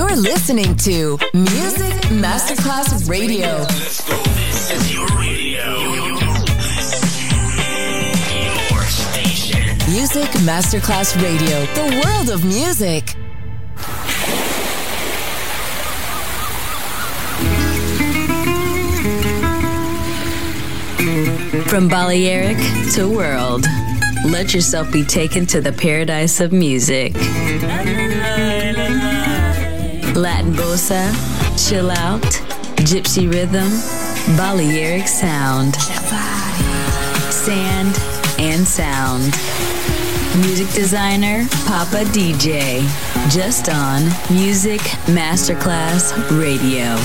You're listening to Music Masterclass Radio. Let's go. This is your radio. Your station. Music Masterclass Radio. The world of music. From Balearic to world, let yourself be taken to the paradise of music. Latin bossa, chill out, gypsy rhythm, Balearic sound, sand and sound. Music designer, Papa DJ, just on Music Masterclass Radio.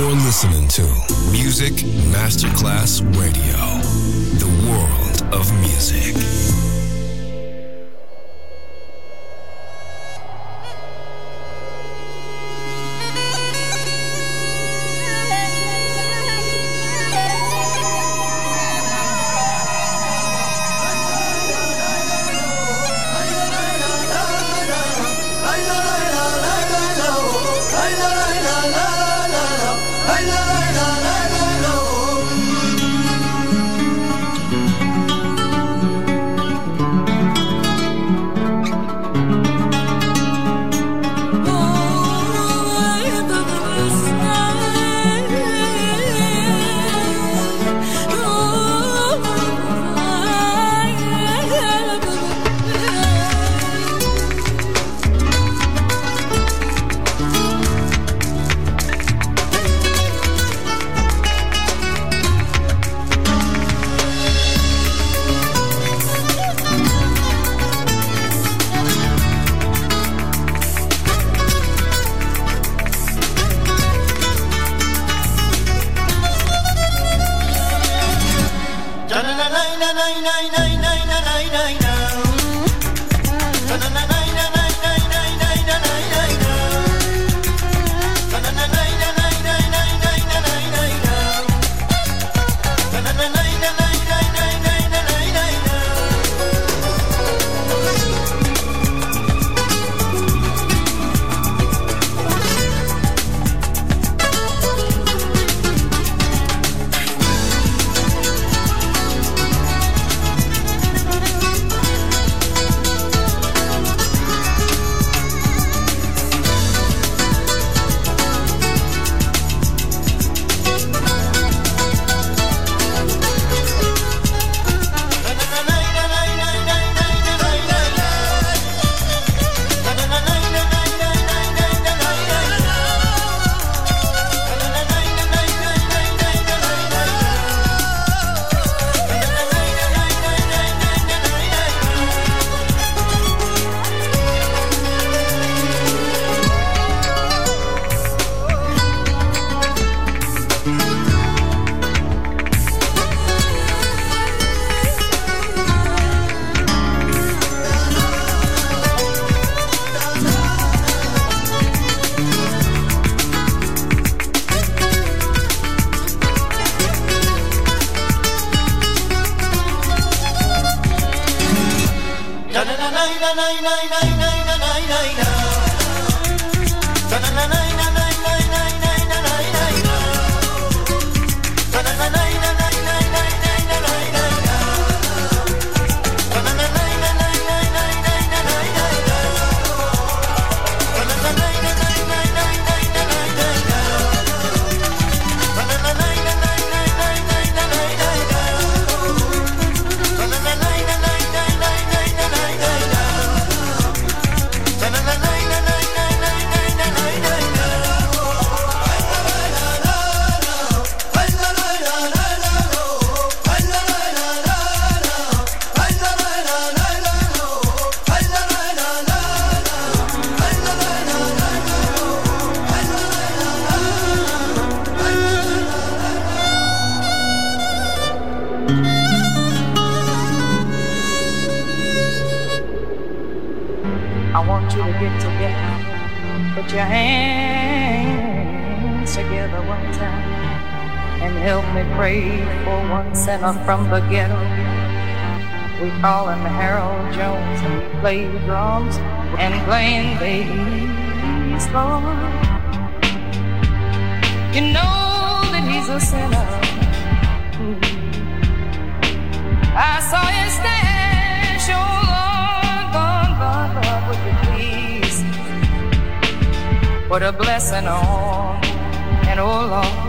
You're listening to Music Masterclass Radio, the world of music. From the ghetto, we call him Harold Jones, and he plays drums and playing bass, Lord. You know that he's a sinner. I saw his stash, oh Lord, would you please put a blessing on, and oh Lord.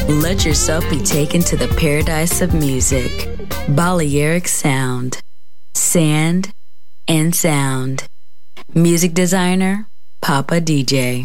Let yourself be taken to the paradise of music. Balearic Sound. Sand and Sound. Music designer, Papa DJ.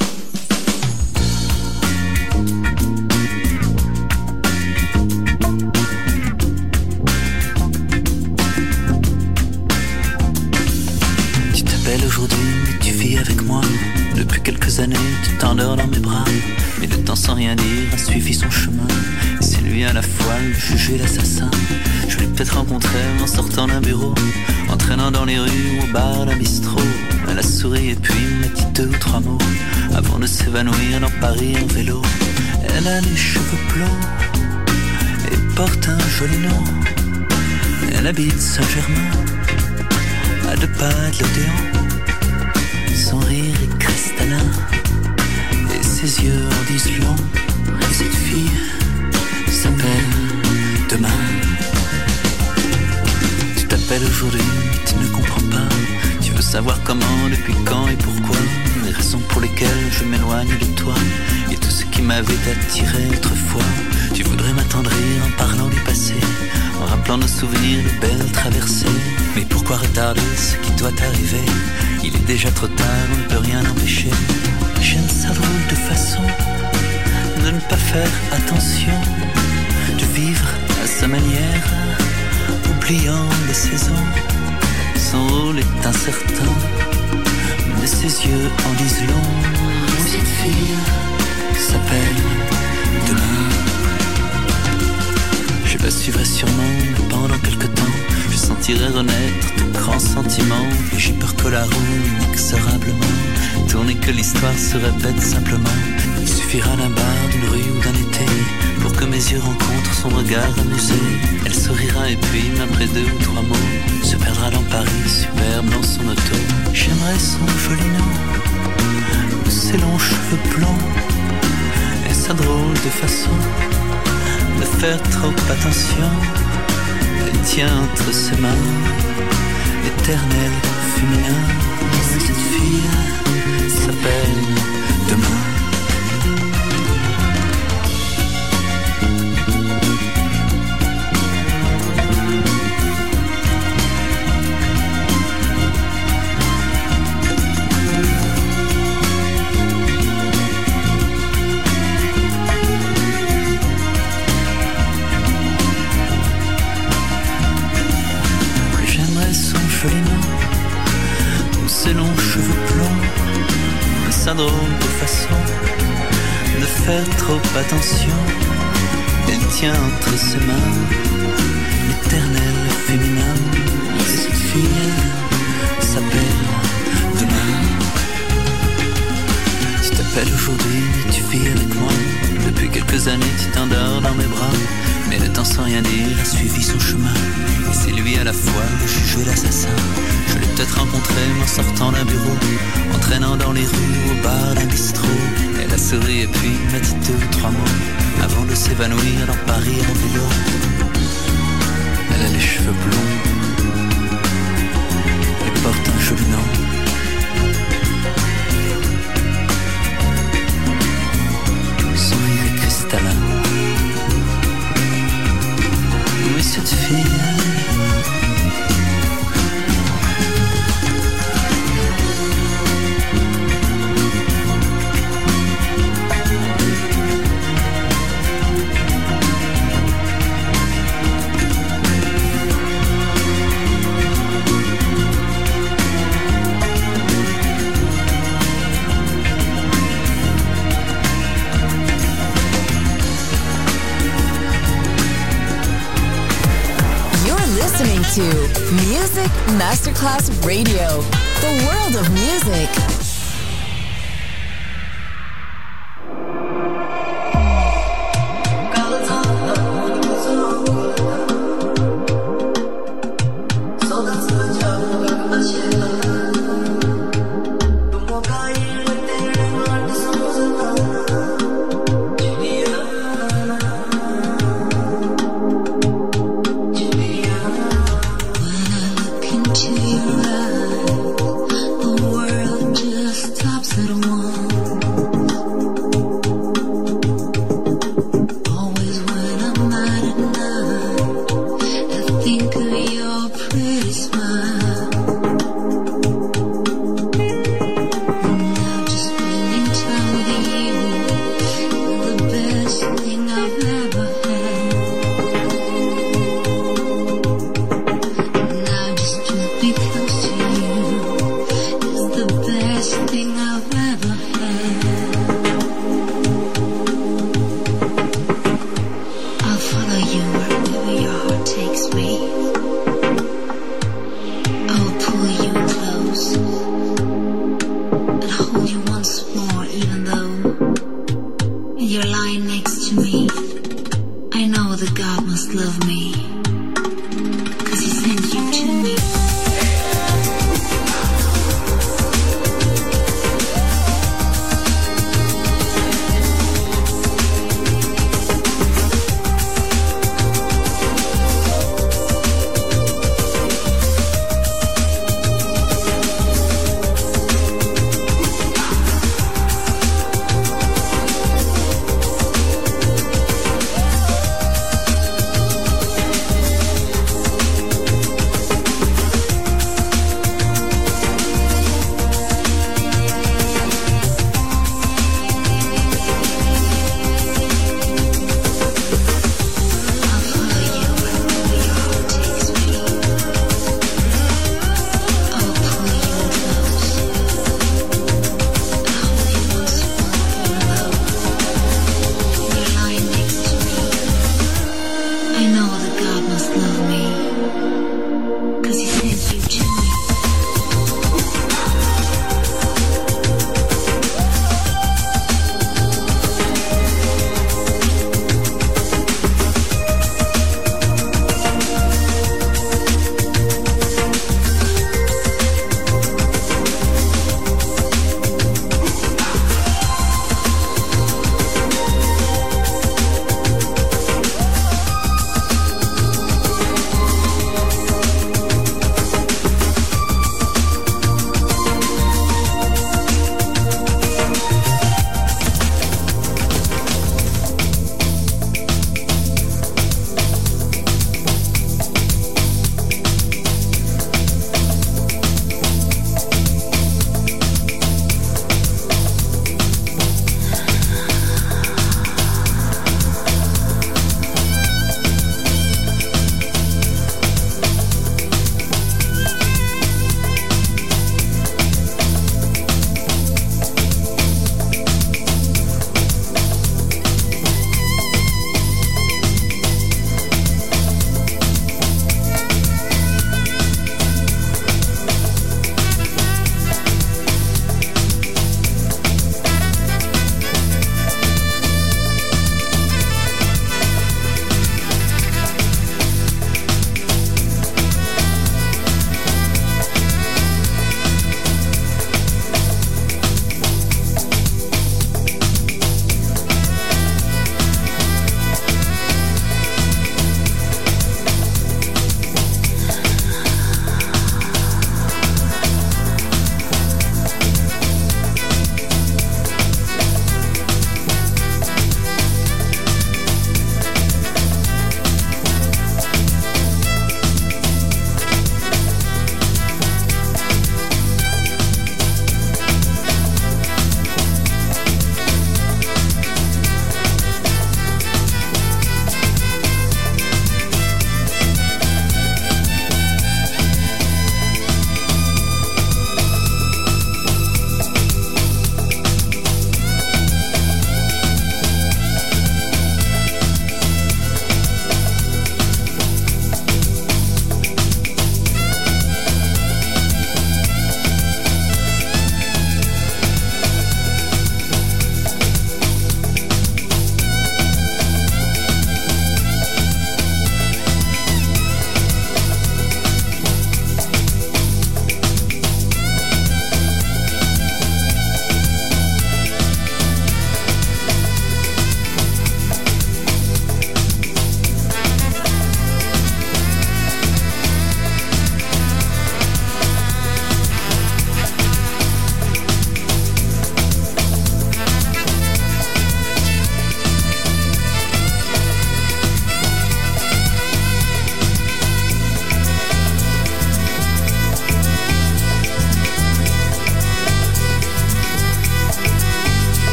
Tu t'appelles aujourd'hui, mais tu vis avec moi. Depuis quelques années, tu t'endors dans mes bras. Mais le temps sans rien dire a suivi son chemin. Et c'est lui à la fois le juge et l'assassin. Je l'ai peut-être rencontré en sortant d'un bureau, en traînant dans les rues ou au bar d'un bistrot. Elle a souri et puis m'a dit 2 ou 3 mots avant de s'évanouir dans Paris en vélo. Elle a les cheveux blonds et porte un joli nom. Elle habite Saint-Germain, à 2 pas de l'Odéon. Son rire est cristallin et ses yeux en disent long. Et cette fille s'appelle Demain. Tu t'appelles aujourd'hui, mais tu ne comprends pas. Tu veux savoir comment, depuis quand et pourquoi. Les raisons pour lesquelles je m'éloigne de toi et tout ce qui m'avait attiré autrefois. Tu voudrais m'attendrir en parlant du passé, en rappelant nos souvenirs de belles traversées. Mais pourquoi retarder ce qui doit arriver? Il est déjà trop tard, on ne peut rien empêcher. J'aime sa drôle de façon de ne pas faire attention, de vivre à sa manière, oubliant les saisons. Son rôle est incertain, mais ses yeux en disent long. Cette fille s'appelle Demain. Je la suivrai sûrement, mais pendant quelque temps je sentirai renaître de grands sentiments. Et j'ai peur que la roue, inexorablement, tourne et que l'histoire se répète simplement. Il suffira d'un bar, d'une rue ou d'un été pour que mes yeux rencontrent son regard amusé. Elle sourira et puis, après 2 ou 3 mots, se perdra dans Paris, superbe dans son auto. J'aimerais son joli nom, ses longs cheveux blonds et sa drôle de façon de faire trop attention. Elle tient entre ses mains l'éternel féminin. Cette fille s'appelle Demain. Ses longs cheveux blonds, sa drôle de façon de faire trop attention. Elle tient entre ses mains l'éternel féminin. Cette fille s'appelle Demain. Tu t'appelles aujourd'hui, mais tu vis avec moi. Depuis quelques années, tu t'endors dans mes bras. Mais le temps sans rien dire a suivi son chemin. Et c'est lui à la fois le juge et l'assassin. Je l'ai peut-être rencontré en sortant d'un bureau, en traînant dans les rues au bar d'un bistrot. Elle a souri et puis m'a dit 2 ou 3 mots avant de s'évanouir dans Paris en vélo. Elle a les cheveux blonds et porte un joli nom. Son rire est cristallin. Oui, cette fille to Music Masterclass Radio, the world of music. Into your eyes, the world just You're lying next to me. I know that God must love me, 'cause he sent you to me.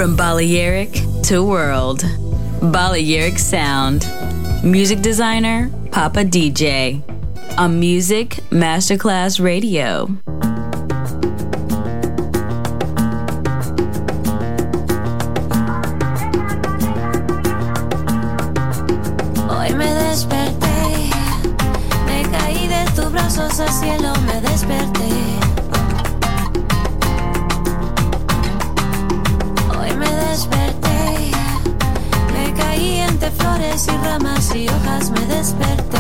From Balearic to world, Balearic Sound. Music designer, Papa DJ. On Music Masterclass Radio. Hoy me desperté, me caí de tus brazos al cielo, me desperté. Hoy me desperté, me caí entre flores y ramas y hojas, me desperté.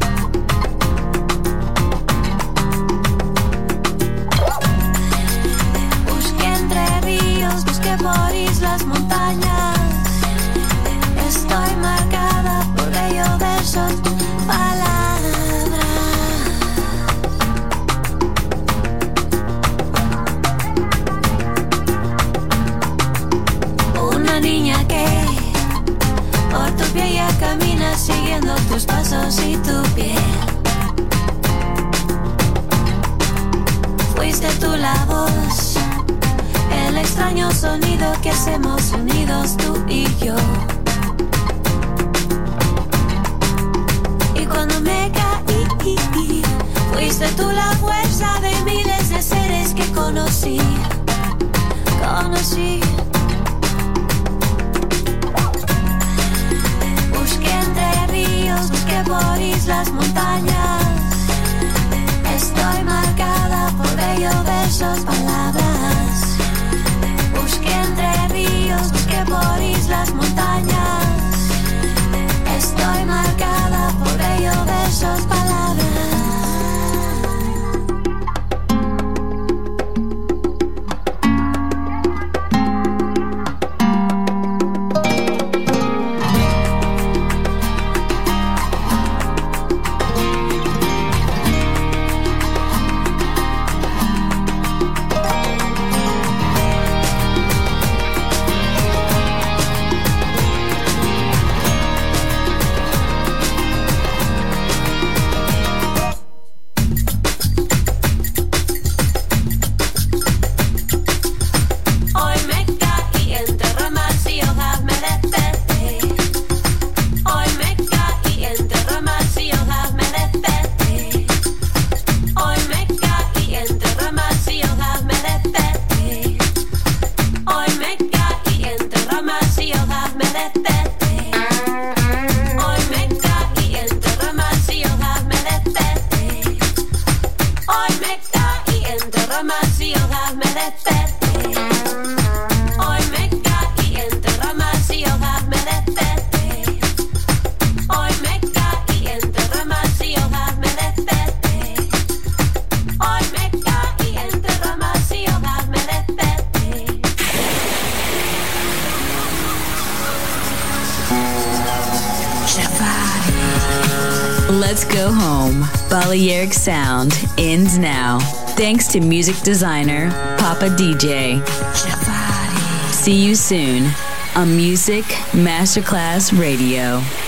Busqué entre ríos, busqué por islas, montañas. Estoy marcada por bellos versos, palabras. Una niña que por tu piel ya camina siguiendo tus pasos y tu piel. Fuiste tú la voz, el extraño sonido que hacemos unidos tú y yo. Y cuando me caí, fuiste tú la fuerza de miles de seres que conocí. Busqué entre ríos, busqué por islas, montañas. Estoy marcada por bellos versos, palabras. Busqué entre ríos, busqué por islas, montañas. Estoy marcada por bellos versos, palabras. Let's go home. Balearic Sound ends now. Thanks to music designer Papa DJ. See you soon on Music Masterclass Radio.